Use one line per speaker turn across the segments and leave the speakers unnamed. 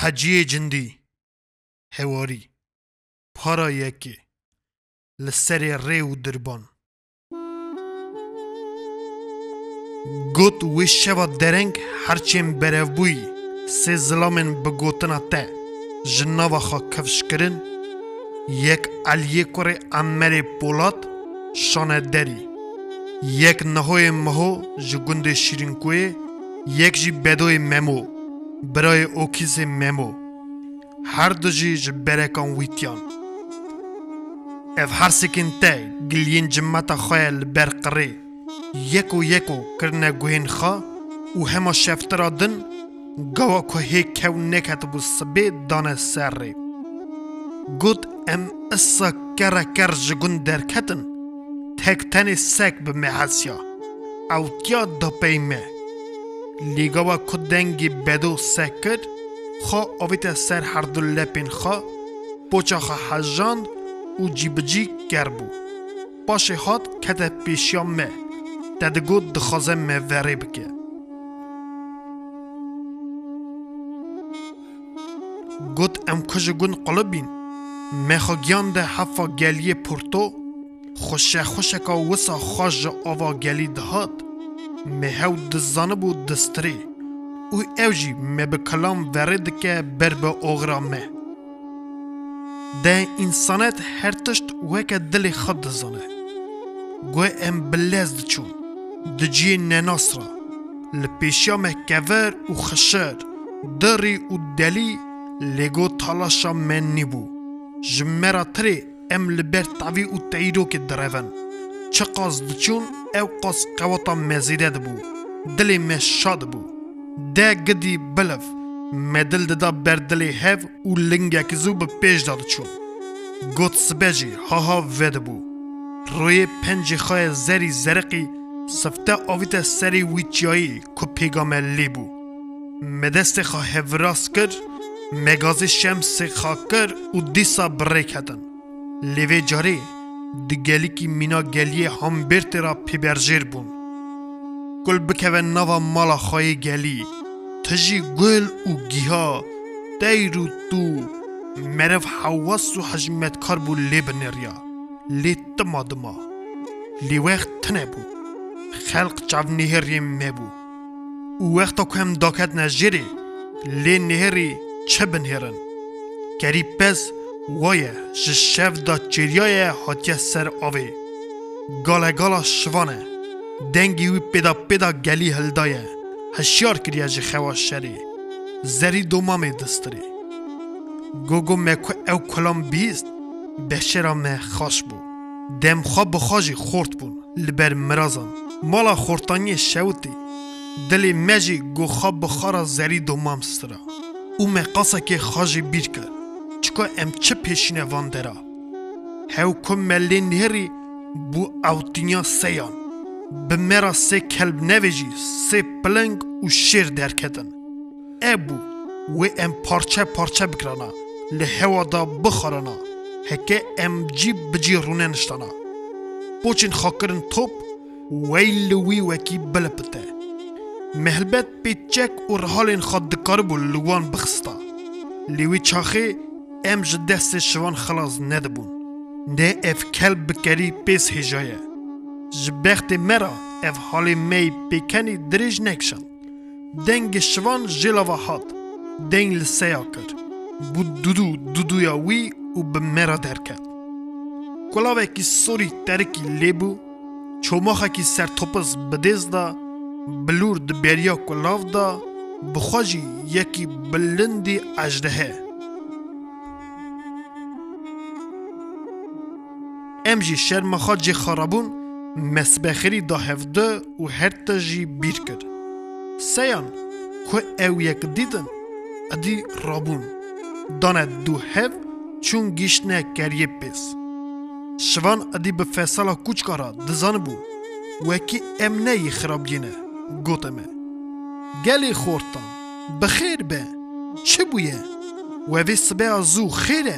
حجی جندی هواری پارا یکی لسر ریو دربان گوت وی شوا درنگ هرچیم برف بوی سه ظلامن بگوتنا ته جناوا خا کفش کرن یک علیه کره امر پولاد شانه دری یک نهوی مهو جگند شیرین کوی یک جی بدوی ممو برای اوکیز ممو هر دو جی جبرکان ویتیان اف هر سکن ته گلین جمعتا خیل برقره یکو کرنه گوهن خوا و همه شفترا دن گوا که هیک که نکت بو سبه دانه سر ری گود ام اسا کر جگون درکتن تک تنی سک به محسیا او تیا دا پیمه لیگاوا که دنگی بدو سکر خوا آویت سر هر دو لپین خوا پوچا خوا حجاند و جیبجی کربو باشه هات کت پیشیا مه تدگو دخوازه مه وری بکه گوت ام کجگون قلبین مخا گیان ده حفا گلی پورتو خوشه که وسا خواج آوا گلی دهات مهو دزانه بود دستری او اوجی مه به کلام ورد که بر به اغرا مه ده انسانت هر تشت وکه دل خود دزانه گوه ام بلزد چون دجی نناصرا لپیشیا مه کور و خشر دری و دلی لگو تالاشا من نیبو جمرا تری ام لبر تاوی و تایرو که درون چه قاز دچون او قاز قواتا مزیده دبو دلی مشاد بو ده گدی بلف مدل دادا بردلی هف و لنگه کزو به پیش داد چون گوت سبجی ها وید بو روی پنج خواه زری زرقی سفته آویت سری ویچیایی که پیگام لی بو مدست خواه هفراس کرد مگازی شمس خاکر و دیسا بره کدن لیوی جاری دگلی کی مینا گلیه هم برت را پیبرجیر بون گل بکوه نوا مالا خواهی گلی تجی گل و گیها دیرو تو مرف حواس و حجمت کار بو لی بنریا لی تما دما لی وقت تنه بو خلق چاو نهری مبو و وقتا که هم داکت نجری لی نهری چه بنهرن گری پس وایه جشف دا چریای حاتیه سر آوه گالا شوانه دنگی وی پیدا گلی هلدایه هشیار کریه جه خواش شری زری دومامه دستری گوگو مکو او کلام بیست بشرا مه خاش بو دم خواب بخواجی خورد بون لبر مرازم مالا خورتانی شوتی دلی مجی گو خواب بخارا زری دومام سترا او مقاسه که خاجی بیر کرد چکا ام چه پیشینه وان درا هاو کم ملی نهری بو اوتینیا سیان به مرا سه کلب نویجی سه پلنگ و شیر درکتن ابو و ام پارچه بکرانا لحوا دا بخارانا هکه ام جیب بجی رونه نشتانا بوچین خاکرن توپ ویلوی وکی بلپته مهلبت پیچک و رحالین خود دکاربو لوان بخستا لیوی چاخه ام جدست شوان خلاص ندبون نه اف کلب بکری پیس هجایه جبخت مرا اف حالی می پیکنی دریج نکشن دنگ شوان جلاوه هات دنگ لسیا کر بود دودویا وی و به مرا درکت کلاوه کی سوری ترکی لیبو چوماخه کی سر توپس بدیز دا بلور دبیریا کلاو دا بخواجی یکی بلندی اجدهه امجی شرمخا جی خرابون مسبخری دا هفده و هر تجی بیر کرد سیان که او یک دیدن ادی رابون دانه دو هف چون گیشنه کریه پیس شوان ادی به فیصله کوچکارا دزان بو وکی امنه خراب گینه گوتمه گلی خورتان بخیر به چه بویه و وی سبه ازو خیره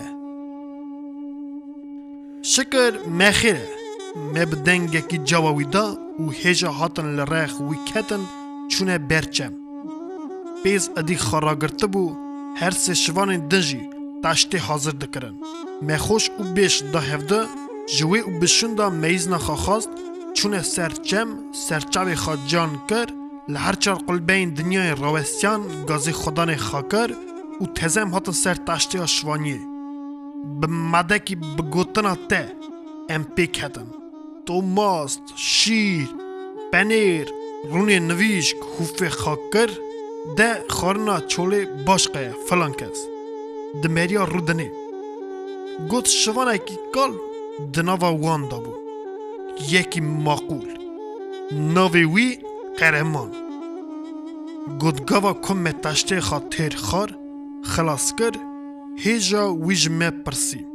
شکر مخیره مبدنگه کی جواوی دا و هجا هاتن لرخ وی کتن چونه برچم پیز ادی خراگرته بو هر سه شوان دنجی تشتی حاضر دکرن مخوش او بیش دا هفده جوی او بشون دا میزنا خواست چون سرچم سرچاوی خواد جان کر لهر چار قلبین دنیای روستیان گازی خدان خاکر او تزم هات سر تشتی ها شوانیه بمده که بگوتنا ته ام پیک هتن توماست، شیر، پنیر، رونی نویشک خوف خاکر ده خارنا چوله باشقه فلان کس دمریا رودنه گوت شوانه کی کال دناوا وان دابو یکی معقول ناوی وی قهرمان گوت گاوا کم تشته خاطر خار خلاص کر هیجا ویج me پرسی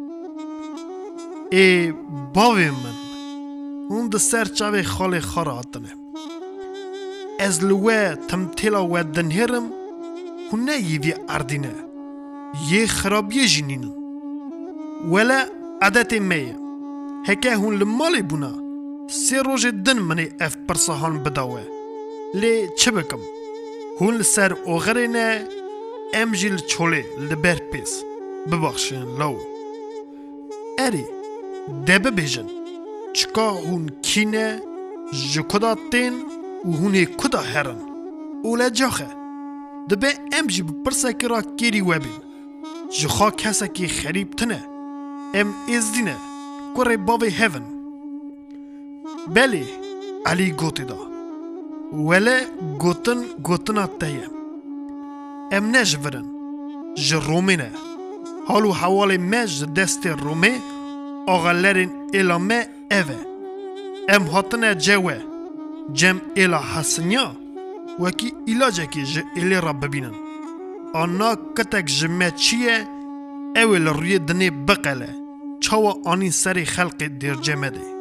ای باوی من اون ده سر چاوی خاله خارا آتنه از لوه تمتیلا و دنهرم هنه یوی اردینه یه خرابیه جنینن ولا عادت میه هکه هون لمالی بونا سی روز دن منی اف پرسهان بداوه لی چه بکم هون لسر اوغره نه ام جیل چوله لبر پیس ببخشین لو اری دبه بیجن چکا هون کینه جکدا تین و هونی کدا هرن اوله جاخه دبه ام جی بپرسه که را کیری وبین جخوا کسا که خریب تنه ام ازدینه کره باوی هیون بله علی گوتی دا ولی گوتنا تایه ام نجورن جرومی نه حالو حوال مج دست رومی آغالرین ایلامه اوه ام هاتنه جوه جم ایلا حسنیا وکی ایلاجه که جه ایلی را ببینن آنا کتک جمع چیه اول روی دنی بقله چاوا آنی سری خلق دیر جمع ده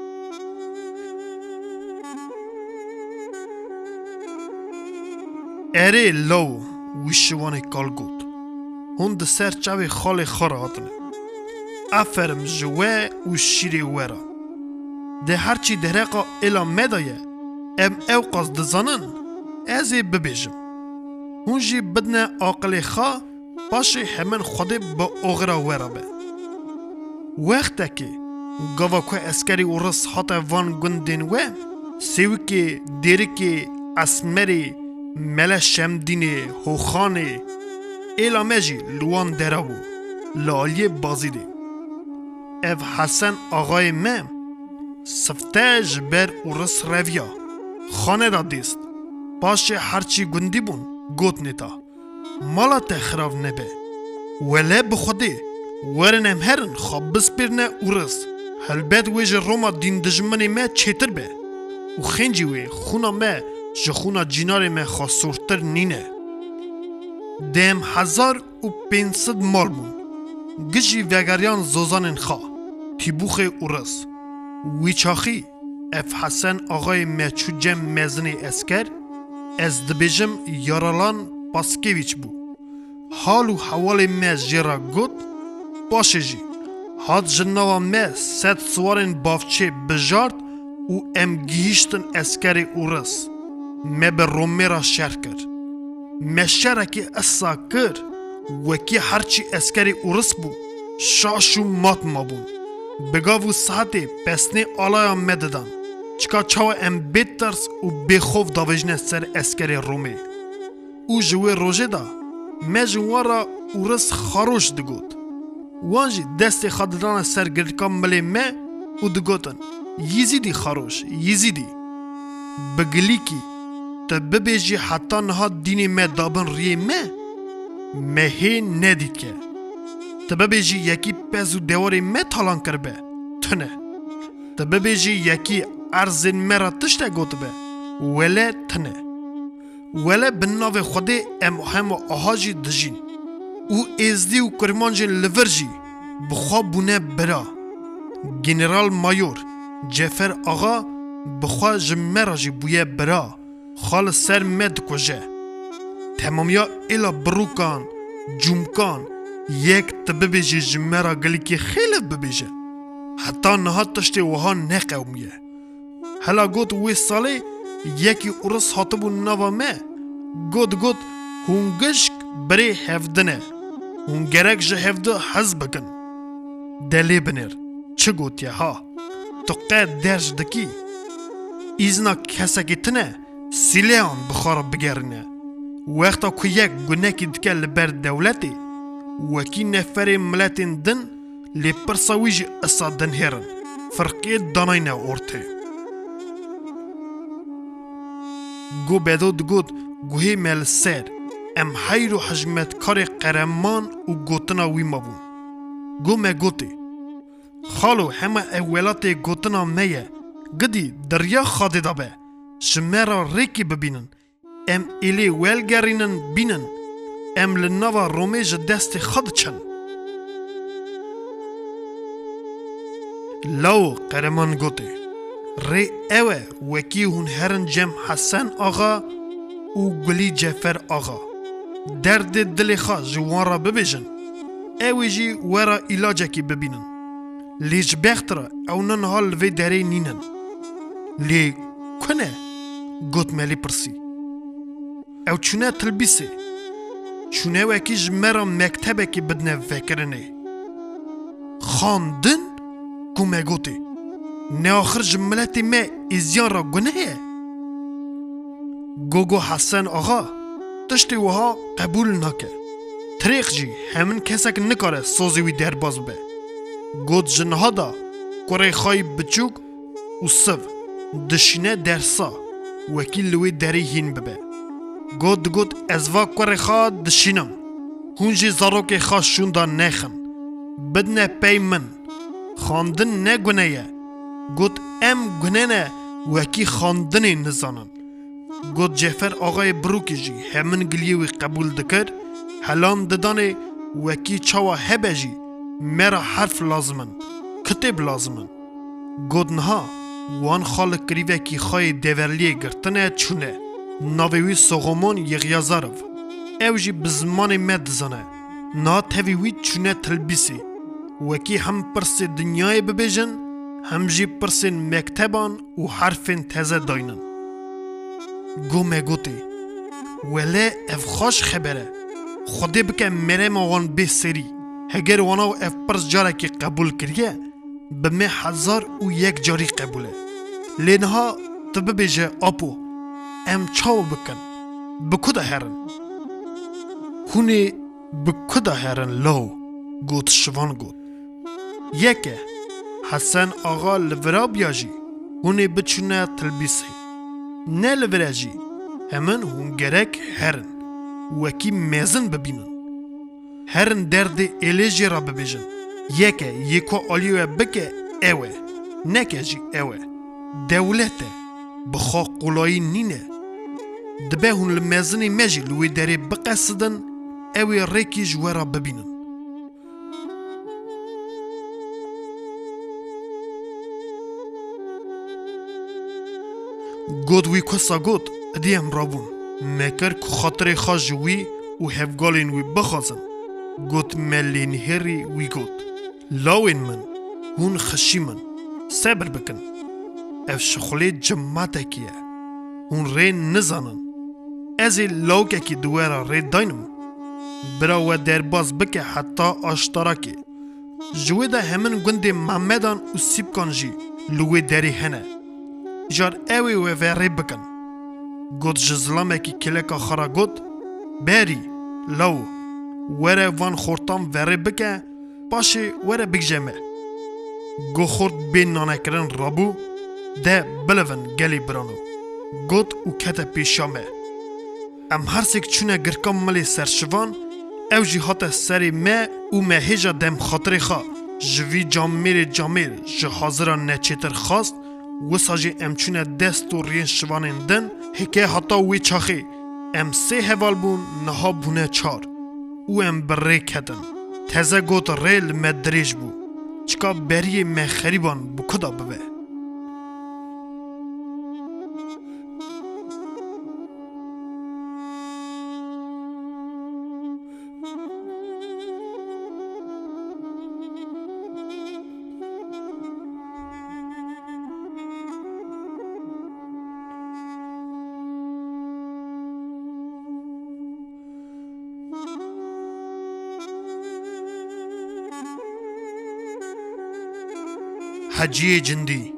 اره لو ویشوانی کال گود هون ده سر چاوی خال خارا هاتنه افرم جوه و شیری ورا ده هرچی درقا ایلا مدایه ام او قصد دزانن ازی ببیجم هون جی بدنه آقل خوا پاشی همین خوده با اغرا ورا به وقتا که گاوا که اسکری ورس حتا وان گندین و سیوی که دیری که اسمری مل شمدینه هوخانه ایلا مجی لوان دراو لالی بازی ده اف حسن آقای مم سفتج بر ورس رویا خانه دا دیست پاشه هرچی گندی بون گوت نیتا مالا تخراف نبه ولی بخوده ورنم هرن خواب بسپرنه ورس هلبت ویج روما دین دجمنی ما چیتر به و خینجی وی خونا ما جخونا جینار ما خاصورتر نینه دیم 1500 مال بون گجی وگریان زوزان خوا تیبوخ ورس وی چاخی اف حسن آقای مچو جم مزنی اسکر از دبیجم یارالان پاسکیویچ بو حالو حوال مز جرا گوت باشه جی هاد جناوا مز ست سوارن بافچه بجارد و ام گیشتن اسکر اورس مه به رومی را شر کر مشرکی اسا کر وکی هرچی اسکر اورس بو شاشو مات ما بون بگاو ساعتی پسنی آلایا مددن چکا چاو ام بیت ترس و بخوف داوجنه سر اسکر رومی او جوه روژه دا مجوارا اورس خاروش دگوت وانجی دست خادران سر گرکام ملی مه او دگوتن یزیدی خاروش یزیدی بگلی کی تا ببیجی حتی نها دینی مه دابن ریه مه ندید که تا ببیجی یکی پزو دواری مه تالان کربه تنه تا ببیجی یکی ارزین مرا تشته گوت به ولی تنه ولی بناو خوده ام هم آهاجی دجین او ازدی و کرمانجین لورجی بخواه بونه برا گنرال مایور جفر آقا بخواه جمراجی بویه برا خال سر مد کجه تمامیا ایلا بروکان جمکان یک تببیجی جمرا گلی که خیلی ببیجه حتی نهاد تشتی وها نقومیه هلا گوت وی ساله یکی ارس حاطبو نوا مه گوت هونگشک بری هفدنه اون گرک جه هفده حز بکن دلی بنر چه گوتیه ها تو قد درج دکی ایزنا کسکی تنه سیلیان بخار بگرنه وقتا که یک گناکی دکه لبر دولتی وکی نفر ملتین دن لی پرساویج اصادن هرن فرقی داناینه ارته گو بدود گود گوهی مل سر ام حیر و حجمت کار قرمان و گوتنا وی مبون گو مگوتی خالو همه اولات گوتنا میه گدی دریا خاده دابه شمرا ریکی ببینن ام ایلی ویلگرینن بینن ام لنوا رومیج دست خود چن لو قرمان گوتی ری اوه وکی هون هرن جم حسن آغا و گلی جفر آغا درد دل خواه جوان را ببیجن اوه جی ورا علاجه کی ببینن لیج بختره او نن حال وی داره نینن لی کنه گوت ملی پرسی او چونه تلبیسه چونه وکی جمرا مکتبه کی بدنه فکرنه خاندن گومه گوتی نه آخر جملتی ما ازیان را گنه گوگو حسن آقا تشتی وها قبول نکه طریق جی همین کسک نکاره سوزیوی در باز به گود جنها دا کره خواهی بچوک و سو دشینه درسا وکیل لوی دری هین ببه گود ازوا کره خواه دشینم هونجی زاروک خواه شوندا نخن بدنه پی من خاندن نگونه یه گود ام گونه نه وکی خاندنی نزانن گود جفر آقای بروکی جی همین گلیوی قبول دکر هلان ددانه وکی چاوا هبه جی مرا حرف لازمن کتب لازمن گود نها وان خالق کریوه کی خواهی دیورلیه گرتنه چونه ناویوی سوغمون یغیازارف او جی بزمان مد زنه نا تاویوی چونه تلبیسی وکی هم پرس دنیای ببیجن هم جی پرسین مکتبان و حرفین تازه داینن گو مگوتی ولی اف خوش خبره خودی بکه مره موان به سری هگر وانا و اف پرس جاره که قبول کریه به می 1001 جاری قبوله لینها تبه بیجه آپو ام چاو بکن بکده هرن هونی بکده هرن لو گوت شوان گوت یکه حسن آقا لورا بیاجی هونی بچونه تلبیسی نه لورا جی همن هون گرک هرن وکی میزن ببینن هرن درد ایلیجی را ببیجن یکو آلیوه بکه اوه نکه جی اوه دولته بخوا قولایی نینه دبه هون لمزنی مجی لوی داری بقصدن اوه ریکی جوارا ببینن گود وی کسا گود ادیم رابون مکر که خاطر خواج وی و هفگالین وی بخوازن گود ملین هری وی گود لاوین من هون خشی من صبر بکن اف شخلی جماعته کیه هون ری نزانن ازی لاوکه کی دوارا ری داینم برا و درباز بکه حتی آشتارا که جوی ده همین گنده محمدان و سیب کن جی لوی داری هنه جار اوی و وری بکن گود جزلامه کی کلکا خرا گود بری لو وره وان خورتام وری بکه پاشی وره بگجمه گو خورد بین نانکرن رابو ده بلون گلی برانو گود و کتا پیشامه ام هر سیک چونه گرکام ملی سرشوان او جی حتا سری ما و ما هجا دم خاطر خوا جوی جامیر جه حاضران نچیتر خواست و ساجی ام چونه دست و رین شوانین دن هکه حتا وی چاخی ام 3 هوال بون نها بونه 4 و ام بره کدن تزه گوت ریل مدریج بو چکا بری مخریبان بو کدا ببه حجیه جندی